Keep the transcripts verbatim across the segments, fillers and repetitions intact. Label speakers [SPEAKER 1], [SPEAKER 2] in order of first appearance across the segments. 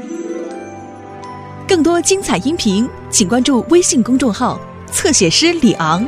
[SPEAKER 1] 更多精彩音频，请关注微信公众号“侧写师李昂”。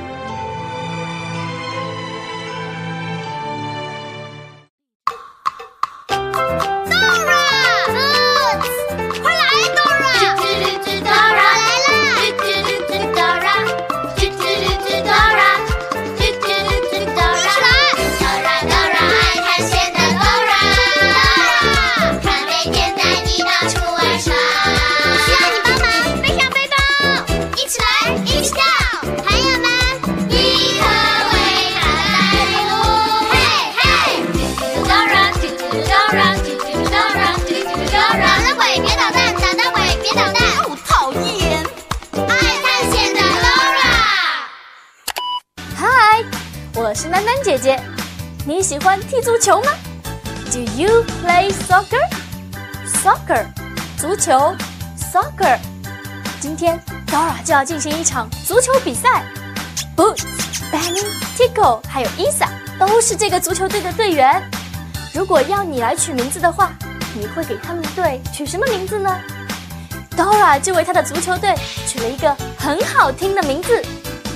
[SPEAKER 2] 我是丹丹姐姐，你喜欢踢足球吗 ？Do you play soccer? Soccer， 足球 ，soccer。今天 Dora 就要进行一场足球比赛。Boots、Benny、Tico 还有 Isa 都是这个足球队的队员。如果要你来取名字的话，你会给他们队取什么名字呢 ？Dora 就为他的足球队取了一个很好听的名字。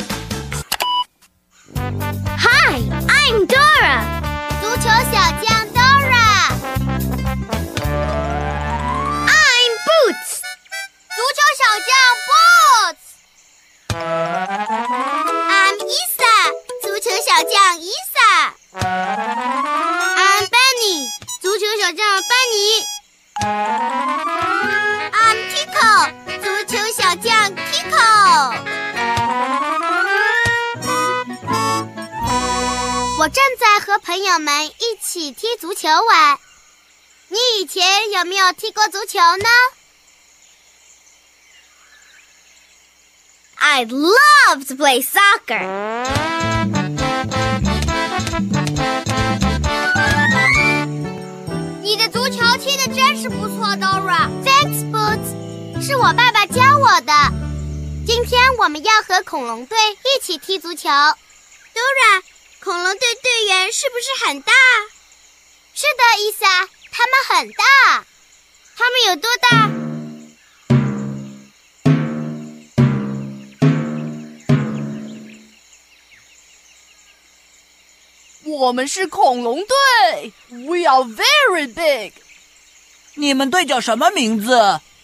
[SPEAKER 3] Hi, I'm Dora. 足球小将 Dora. I'm Boots. 足球小将 Boots. I'm Isa. 足球小将 Isa. I'm Benny. 足球小将班尼。I'm Tico. 足球小将 Tico.我正在和朋友们一起踢足球玩。你以前有没有踢过足球呢？ I'd love to play soccer. 你的足球踢得真是不错 Dora. Thanks, Boots. 是我爸爸教我的。今天我们要和恐龙队一起踢足球。Dora，恐龙队队员是不是很大？是的，伊莎，他们很大。他们有多大？
[SPEAKER 4] 我们是恐龙队 ，We are very big。
[SPEAKER 5] 你们队叫什么名字？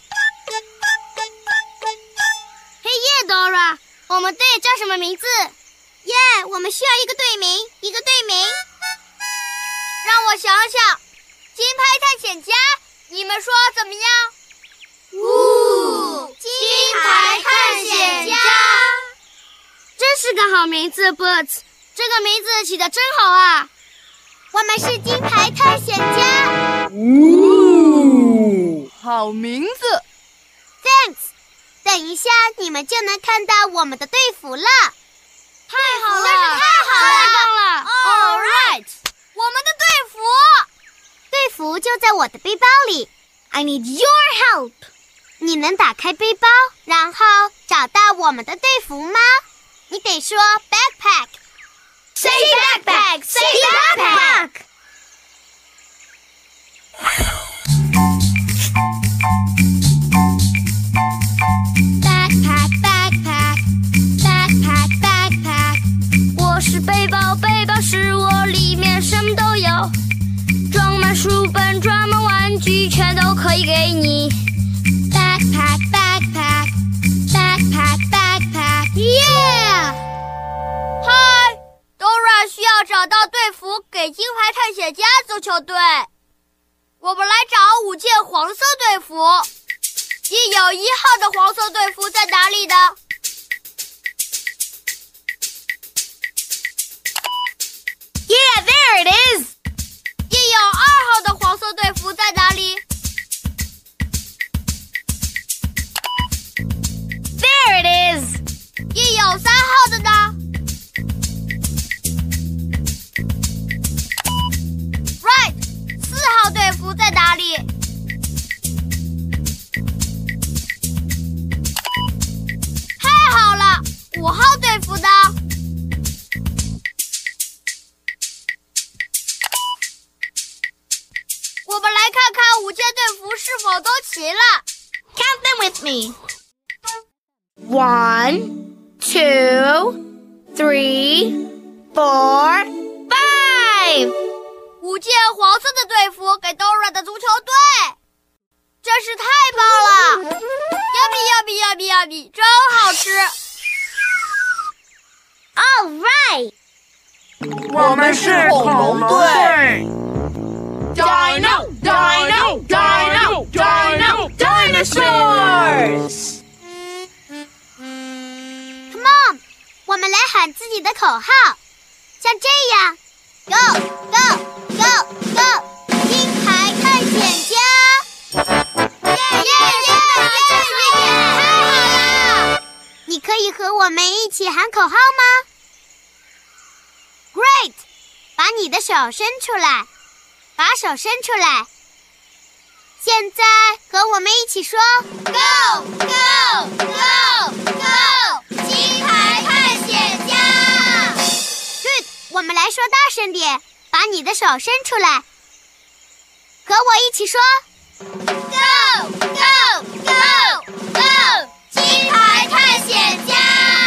[SPEAKER 3] 嘿耶 ，Dora， 我们队叫什么名字？耶、yeah, 我们需要一个队名，一个队名。让我想想，金牌探险家，你们说怎么样？呜，金牌探险家，真是个好名字 ，Boots， 这个名字起得真好啊！我们是金牌探险家。
[SPEAKER 4] 呜，好名字。
[SPEAKER 3] Thanks， 等一下你们就能看到我们的队服了。太好了，真是太好了，太棒了 ！All right， 我们的队服，队服就在我的背包里。I need your help。你能打开背包，然后找到我们的队服吗？你得说 backpack。Say backpack. Say backpack.
[SPEAKER 6] Backpack, 是背包，背包是我，里面什么都有，装满书本，装满玩具，全都可以给你。Backpack, backpack, backpack, backpack, yeah!
[SPEAKER 3] Hi, Dora 需要找到队服给金牌探险家足球队。我们来找五件黄色队服。印有一号的黄色队服在哪里呢？
[SPEAKER 6] Yeah, there it is!
[SPEAKER 3] 印有二号的黄色队服在哪里？
[SPEAKER 6] There it is!
[SPEAKER 3] 印有三号的呢？ Right! 四号队服在哪里？太好了！五号队服呢？我们来看看五件队服是否候都齐了。
[SPEAKER 6] Count them with me. One, two, three, four, five.
[SPEAKER 3] 五件黄色的队服给 Dora 的足球队，真是太棒了 ！Yummy yummy yummy yummy， 真好吃。
[SPEAKER 6] All right.
[SPEAKER 5] 我们是恐龙队。
[SPEAKER 4] Dino, Dino, Dino, Dino, Dinosaurs!
[SPEAKER 3] Come on， 我们来喊自己的口号，像这样 ，Go Go Go Go， 金牌探险家！耶耶耶耶！太好了！你可以和我们一起喊口号吗 ？Great！ 把你的手伸出来。把手伸出来，现在和我们一起说 Go Go Go Go， 金牌探险家 Good， 我们来说大声点，把你的手伸出来，和我一起说 Go Go Go Go， 金牌探险家，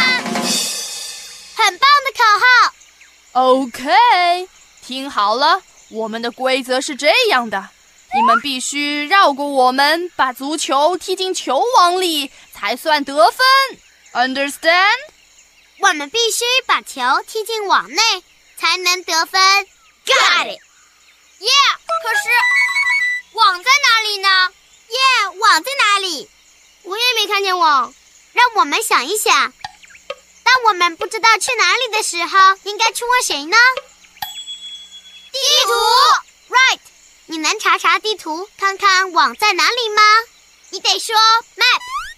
[SPEAKER 3] 很棒的口号。
[SPEAKER 4] OK， 听好了，我们的规则是这样的，你们必须绕过我们，把足球踢进球网里，才算得分。Understand？
[SPEAKER 3] 我们必须把球踢进网内，才能得分。Got it！ Yeah， 可是网在哪里呢 ？Yeah， 网在哪里？我也没看见网。让我们想一想，当我们不知道去哪里的时候，应该去问谁呢？地图 ，right？ 你能查查地图，看看网在哪里吗？你得说 map。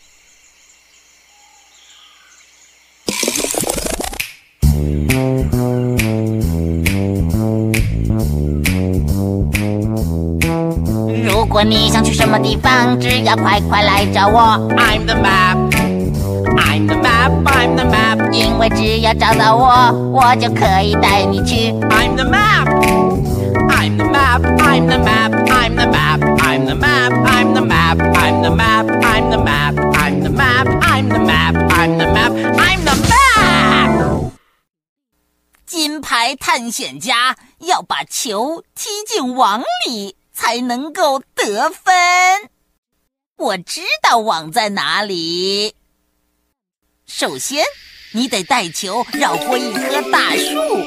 [SPEAKER 7] 如果你想去什么地方，只要快快来找我。I'm the map, I'm the map, I'm the map。因为只要找到我，我就可以带你去。I'm the map, I'm the map, I'm the map, I'm the map, I'm the map, I'm the map, I'm the map, I'm the map, I'm the map, I'm the map, I'm the map, I'm the map。金牌探险家要把球踢进网里，才能够得分。我知道网在哪里。首先，你得带球绕过一棵大树，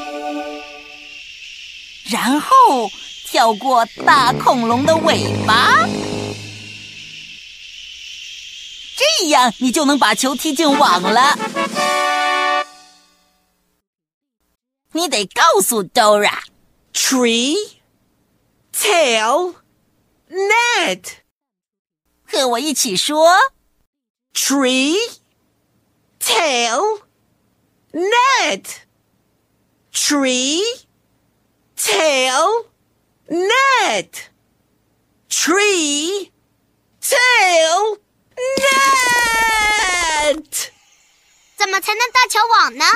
[SPEAKER 7] 然后跳过大恐龙的尾巴，这样你就能把球踢进网了。你得告诉 Dora，
[SPEAKER 5] Tree Tail Net，
[SPEAKER 7] 和我一起说
[SPEAKER 5] Tree Tail Net， Tree Tail Net， Tree Tail Net。
[SPEAKER 3] 怎么才能搭桥网呢？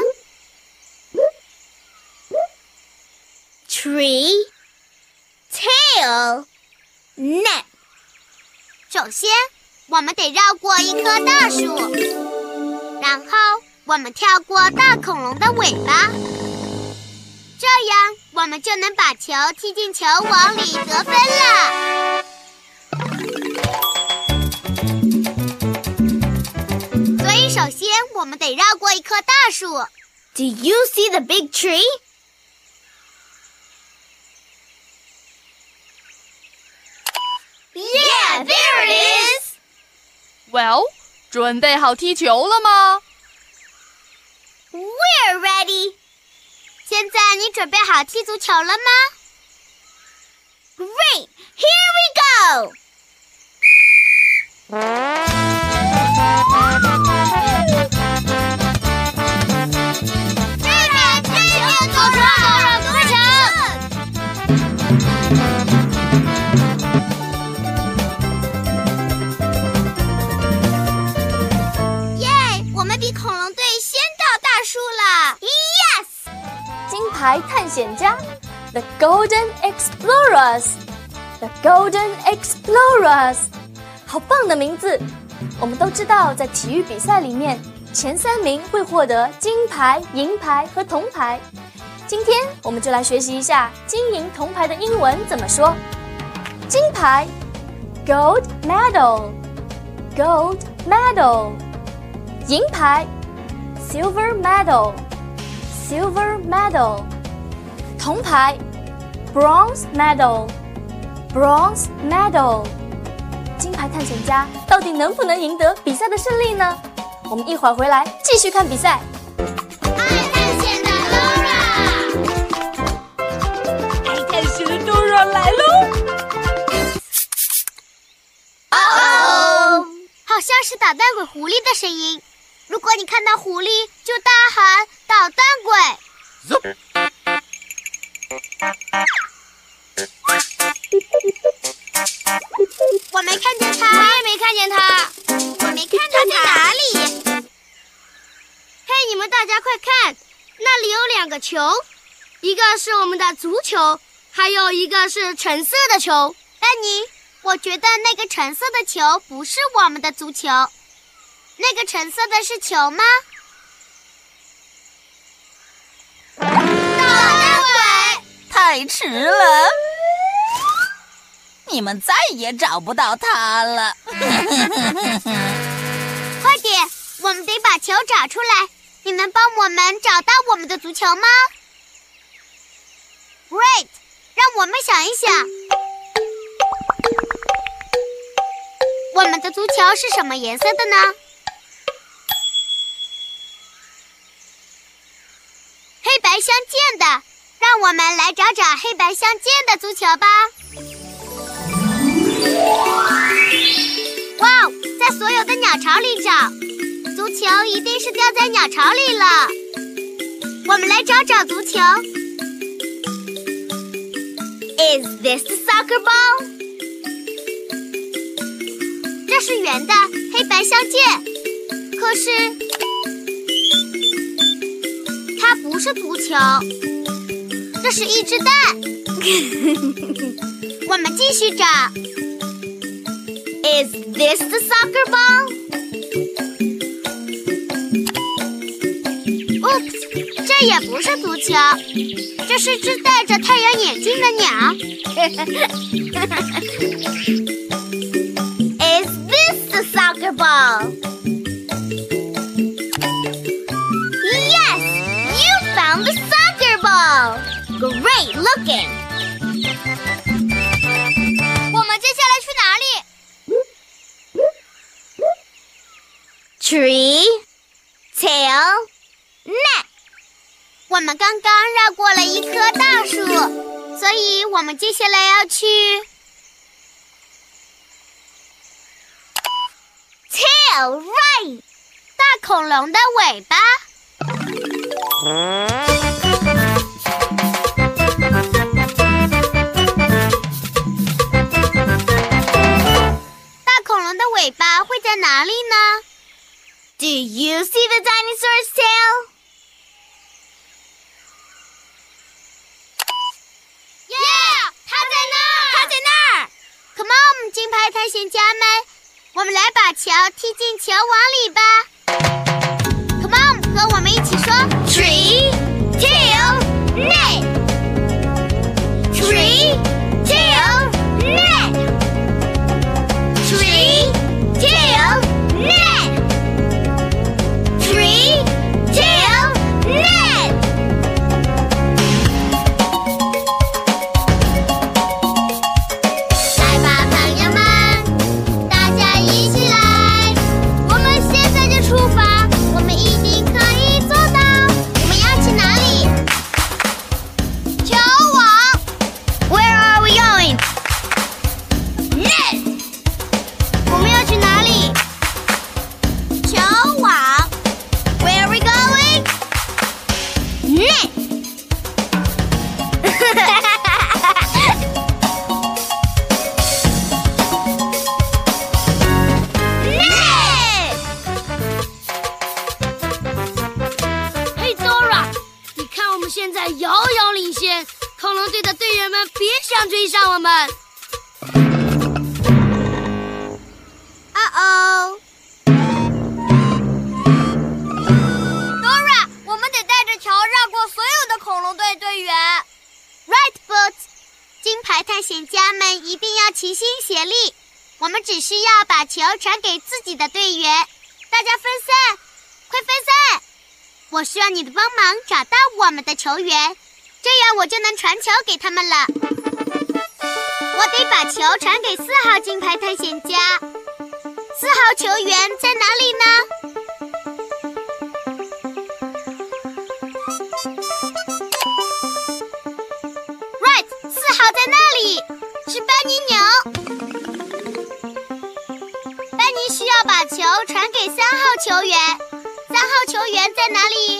[SPEAKER 3] Tree Tail Net。 首先，我们得绕过一棵大树，然后我们跳过大恐龙的尾巴，这样我们就能把球踢进球网里得分了。所以首先我们得绕过一棵大树。Do you see the big tree? Yeah, there it is!
[SPEAKER 4] Well， 准备好踢球了吗
[SPEAKER 3] We're ready! 现在你准备好踢足球了吗 Great! Here we go! 这边，这边，走出来，快成！比恐龙队先到大树了 ！Yes！
[SPEAKER 2] 金牌探险家 ，The Golden Explorers，The Golden Explorers， 好棒的名字！我们都知道，在体育比赛里面，前三名会获得金牌、银牌和铜牌。今天我们就来学习一下金银铜牌的英文怎么说。金牌 Gold medal Gold medal 银牌 Silver medal Silver medal 铜牌 Bronze medal Bronze medal 金牌探险家到底能不能赢得比赛的胜利呢？我们一会儿回来继续看比赛。
[SPEAKER 3] 爱探险的 Dora，
[SPEAKER 1] 爱探险的 Dora 来喽！
[SPEAKER 3] 哦哦，好像是捣蛋鬼狐狸的声音。如果你看到狐狸，就大喊“捣蛋鬼”。我没看见他，
[SPEAKER 6] 我也没看见他，
[SPEAKER 3] 我没看到他在哪里？
[SPEAKER 6] 嘿，你们大家快看，那里有两个球，一个是我们的足球，还有一个是橙色的球。
[SPEAKER 3] 丹尼，我觉得那个橙色的球不是我们的足球，那个橙色的是球吗？捣蛋鬼！
[SPEAKER 7] 太迟了，你们再也找不到他了。
[SPEAKER 3] 快点，我们得把球找出来。你能帮我们找到我们的足球吗 ？Great， 让我们想一想，我们的足球是什么颜色的呢？黑白相间的，让我们来找找黑白相间的足球吧。哇，在所有的鸟巢里找，足球一定是掉在鸟巢里了。我们来找找足球。Is this the soccer ball？ 这是圆的，黑白相间。可是它不是足球，这是一只蛋。我们继续找。Is this the soccer ball? Oops， 这也不是足球，这是只戴着太阳眼镜的鸟。Is this the soccer ball? Yes, you found the soccer ball. Great looking.
[SPEAKER 6] 我们接下来去哪里
[SPEAKER 3] ？Tree, tail, neck。我们刚刚绕过了一棵大树，所以我们接下来要去 tail, right， 大恐龙的尾巴。大恐龙的尾巴会在哪里呢？Do you see the dinosaur's tail? Yeah, 它在那儿，它在那儿。Come on， 金牌探险家们，我们来把球踢进球网里吧。Come on， 和我们一起说 ：Tree, tail, neck. Tree, tail, neck. Tree, tail, neck. Tree, tail, neck. 来吧，朋友们，大家一起来，我们现在就出发，我们一定可以做到。我们要去哪里？球网。Where are we going? Net. 我们要去哪里？球网。Where are we going? Net. Net.
[SPEAKER 6] 嘿 Dora， 你看我们现在遥遥领先，恐龙队的队员们别想追上我们。
[SPEAKER 3] 险家们一定要齐心协力，我们只需要把球传给自己的队员。大家分散，快分散！我需要你的帮忙找到我们的球员，这样我就能传球给他们了。我得把球传给四号金牌探险家。四号球员在哪里呢？好在那里，是班尼鸟。班尼需要把球传给三号球员，三号球员在哪里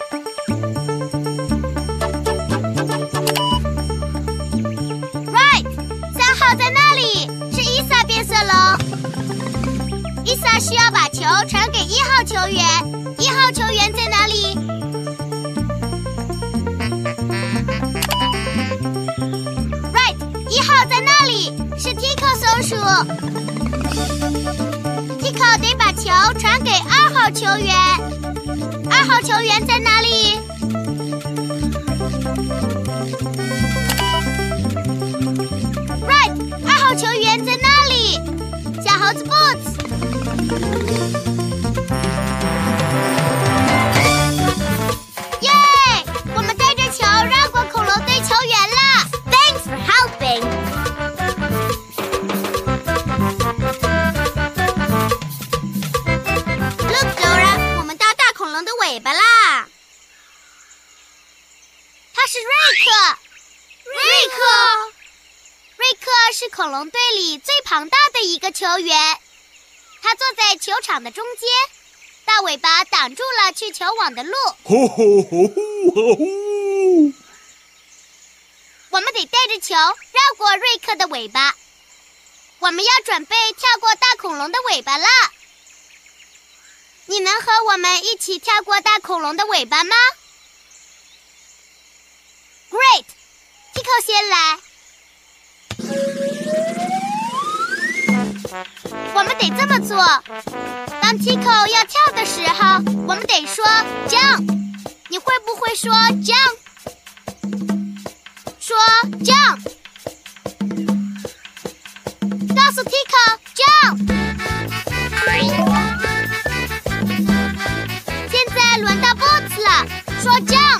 [SPEAKER 3] ？Right， 三号在那里，是伊萨变色龙。伊萨需要把球传给一号球员，一号球员在哪里？一号在那里，是 Tico 松鼠。Tico 得把球传给二号球员，二号球员在哪里 ？Right， 二号球员在那里，小猴子 Boots。耶！我们带着球绕过恐龙队球员了。Thanks for helping. Look, Dora， 我们到大恐龙的尾巴啦！他是瑞克，瑞克，瑞克是恐龙队里最庞大的一个球员。他坐在球场的中间，大尾巴挡住了去球网的路。
[SPEAKER 5] 吼吼吼吼吼！
[SPEAKER 3] 我们得带着球绕过瑞克的尾巴。我们要准备跳过大恐龙的尾巴了。你能和我们一起跳过大恐龙的尾巴吗 ？Great， Tico 先来。我们得这么做。当 Tico 要跳的时候，我们得说 jump。你会不会说 jump？说 jump， 告诉 Tico jump。现在轮到 Boots 了，说 jump。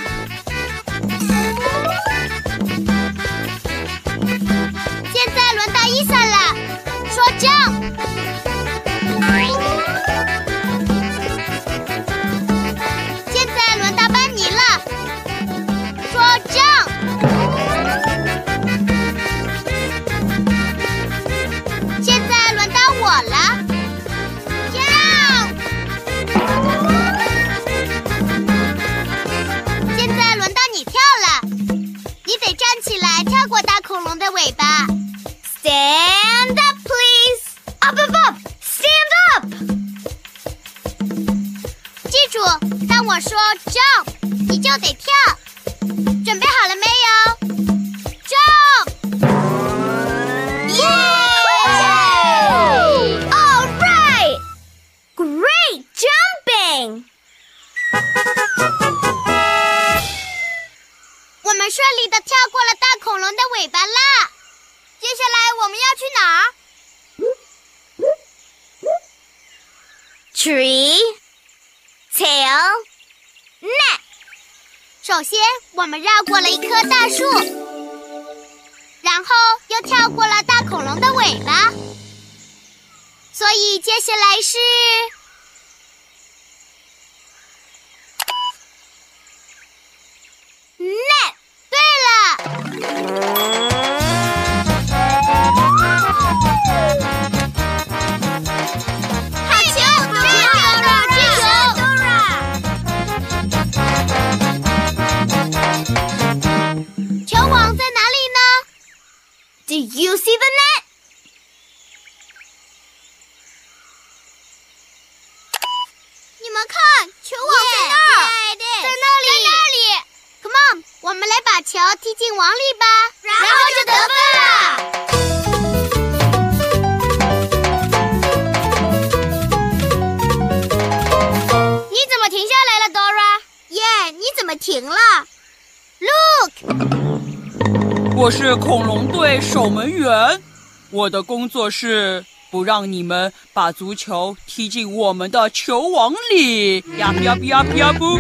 [SPEAKER 3] 现在轮到 Isa 了，说 jump。现在轮到班尼了，说 jump。我了 ，jump！ 现在轮到你跳了，你得站起来跳过大恐龙的尾巴。Stand up, please! Up, up, up! Stand up! 记住，当我说 jump， 你就得跳。准备好了没有 ？Jump！ 耶！Great jumping！ 我们顺利地跳过了大恐龙的尾巴啦。接下来我们要去哪儿 ？Tree, tail, neck。首先，我们绕过了一棵大树，然后又跳过了大恐龙的尾巴。所以接下来是 net。 对了，好球！对了，接球 ，Dora。球网在哪里呢 ？Do you see the net？你们看，球网在那儿， yeah, 在那里，在那里。Come on， 我们来把球踢进网里吧，然后就得分了。你怎么停下来了 ，Dora？ 耶、yeah, ，你怎么停了 ？Look，
[SPEAKER 8] 我是恐龙队守门员，我的工作是不让你们把足球踢进我们的球网里。呀呀呀呀不！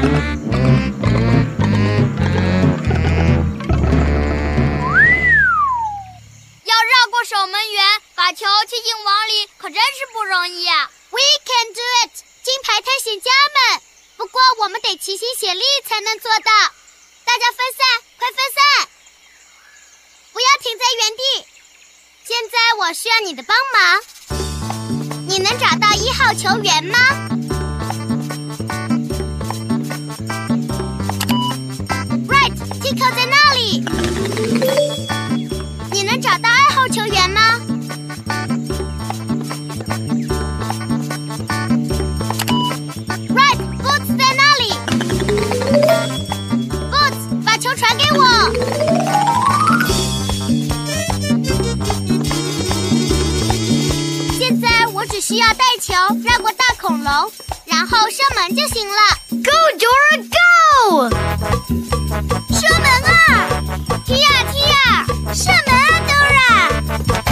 [SPEAKER 6] 要绕过守门员，把球踢进网里，可真是不容易啊
[SPEAKER 3] We can do it， 金牌探险家们！不过我们得齐心协力才能做到。大家分散，快分散！不要停在原地。现在我需要你的帮忙。你能找到一号球员吗？Right，Tico 在那里。你能找到二号球员吗？传给我！现在我只需要带球绕过大恐龙，然后射门就行了。Go Dora Go！ 射门啊！踢呀踢呀！射门啊 Dora！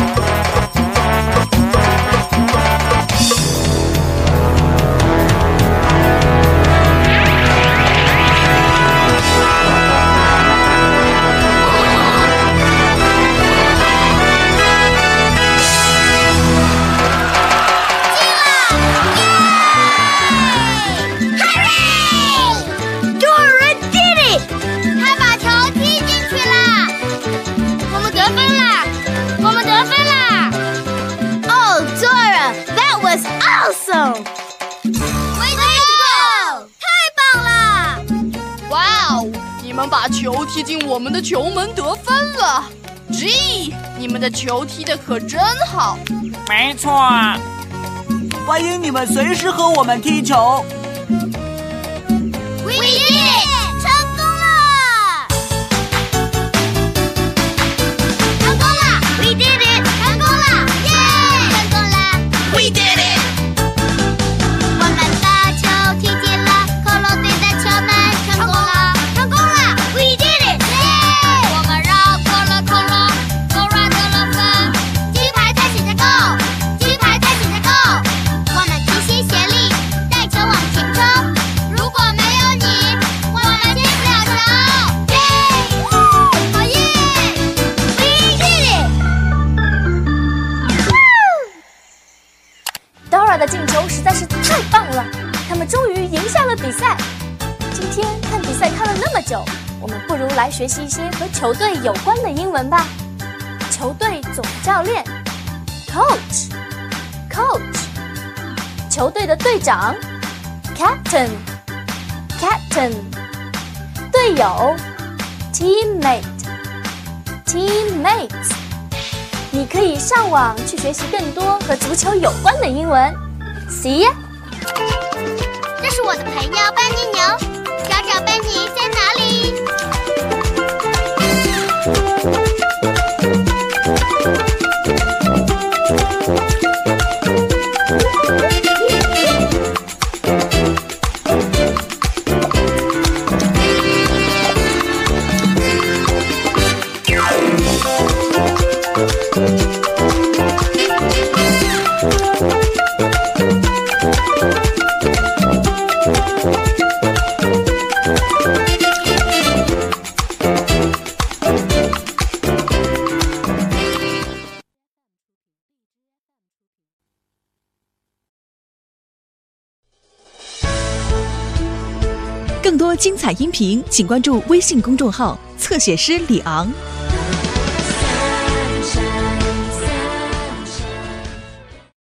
[SPEAKER 2] Awesome！
[SPEAKER 3] Way to go！ 太棒了！
[SPEAKER 4] 哇哦，你们把球踢进我们的球门得分了。G， 你们的球踢得可真好。
[SPEAKER 5] 没错。
[SPEAKER 9] 欢迎你们随时和我们踢球。
[SPEAKER 3] We did it！ 成功了！成功了 ！We did it！ 成功了！耶！成功了 ！We did it！
[SPEAKER 2] 的进球实在是太棒了，他们终于赢下了比赛。今天看比赛看了那么久，我们不如来学习一些和球队有关的英文吧。球队总教练 Coach Coach， 球队的队长 Captain Captain， 队友 Teammate Teammates。你可以上网去学习更多和足球有关的英文。See ya！
[SPEAKER 3] 这是我的朋友班尼牛，找找班尼在哪里？
[SPEAKER 1] 更多精彩音频，请关注微信公众号“侧写师李昂”。